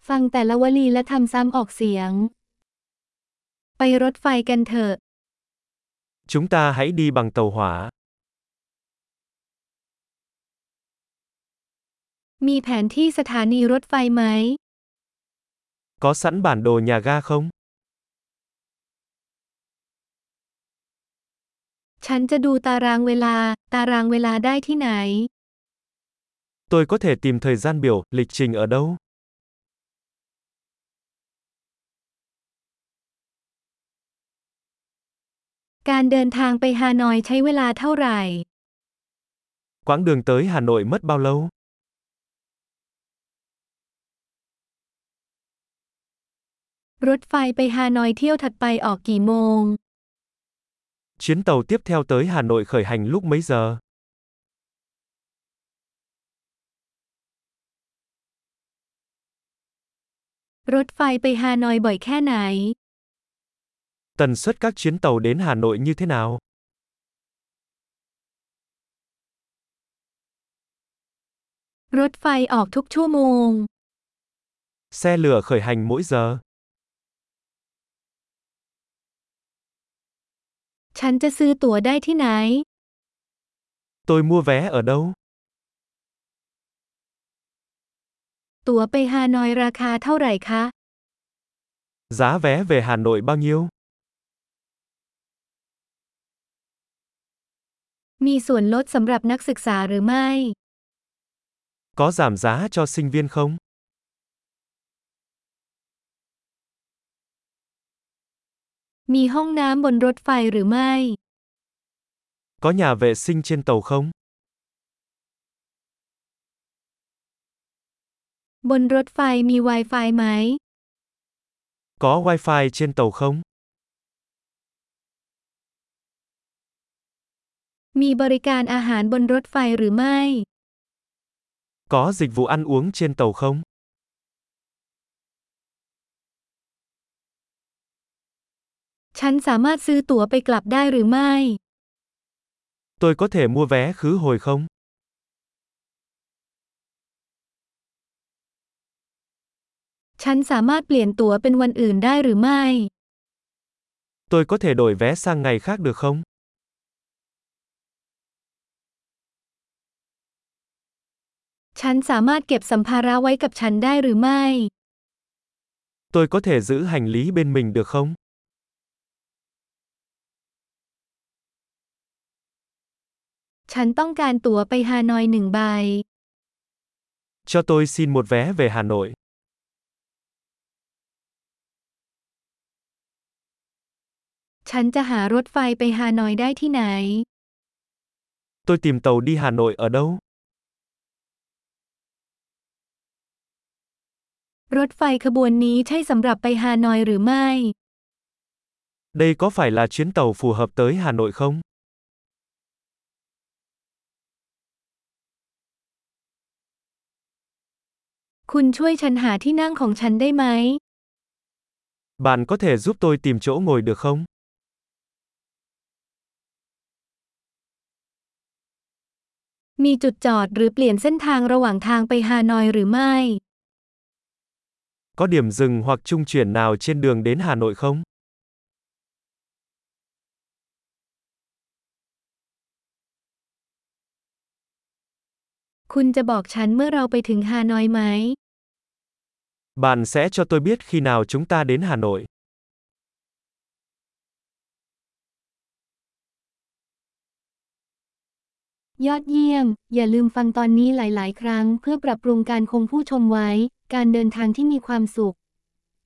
ฟังแต่ละวลีและทำซ้ำออกเสียง ไปรถไฟกันเถอะ Chúng ta hãy đi bằng tàu hỏa. มีแผนที่สถานีรถไฟไหม Có sẵn bản đồ nhà ga không? ฉันจะดูตารางเวลาได้ที่ไหน Tôi có thể tìm thời gian biểu, lịch trình ở đâu? การเดินทางไปฮานอยใช้เวลาเท่าไหร่ Quãng đường tới Hà Nội mất bao lâu? รถไฟไปฮานอยเที่ยวถัดไปออกกี่โมง Chuyến tàu tiếp theo tới Hà Nội khởi hành lúc mấy giờ? รถไฟไปฮานอยบ่อยแค่ไหน Tần suất các chuyến tàu đến Hà Nội như thế nào? รถไฟออกทุกชั่วโมง Xe lửa khởi hành mỗi giờ. ฉันจะซื้อตั๋วได้ที่ไหน Tôi mua vé ở đâu? ตั๋วไปฮานอยราคาเท่าไหร่คะ Giá vé về Hà Nội bao nhiêu? มีส่วนลดสำหรับนักศึกษาหรือไม่ Có giảm giá cho sinh viên không? มีห้องน้ำบนรถไฟหรือไม่ Có nhà vệ sinh trên tàu không? บนรถไฟมี Wi-Fi ไหม Có wifi trên tàu không? มีบริการอาหารบนรถไฟหรือไม่ Có dịch vụ ăn uống trên tàu không? ฉันสามารถซื้อตั๋วไปกลับได้หรือไม่ Tôi có thể mua vé khứ hồi không? ฉันสามารถเปลี่ยนตั๋วเป็นวันอื่นได้หรือไม่ Tôi có thể đổi vé sang ngày khác được không? ฉันสามารถเก็บสัมภาระไว้กับฉันได้หรือไม่ Tôi có thể giữ hành lý bên mình được không? ฉันต้องการตั๋วไปฮานอย1 ใบ Cho tôi xin một vé về Hà Nội. ฉันจะหารถไฟไปฮานอยได้ที่ไหน Tôi tìm tàu đi Hà Nội ở đâu? รถไฟขบวนนี้ใช่สำหรับไปฮานอยหรือไม่ Đây có phải là chuyến tàu phù hợp tới Hà Nội không? คุณช่วยฉันหาที่นั่งของฉันได้ไหม Bạn có thể giúp tôi tìm chỗ ngồi được không? มีจุดจอดหรือเปลี่ยนเส้นทางระหว่างทางไปฮานอยหรือไม่ Có điểm dừng hoặc trung chuyển nào trên đường đến Hà Nội không? คุณจะบอกฉันเมื่อเราไปถึงฮานอยไหม Bạn sẽ cho tôi biết khi nào chúng ta đến Hà Nội. ยอดเยี่ยม อย่าลืมฟังตอนนี้หลาย ๆ ครั้งเพื่อปรับปรุงการคงผู้ชมไว้ การเดินทางที่มีความสุข